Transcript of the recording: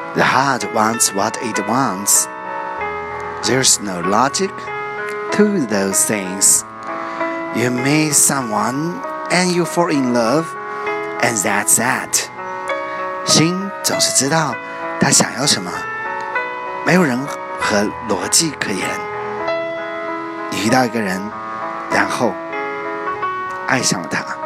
The heart wants what it wants. There's no logic to those things. You meet someone and you fall in love, and that's that. 心总是知道他想要什么，没有任何逻辑可言。你遇到一个人，然后爱上了他。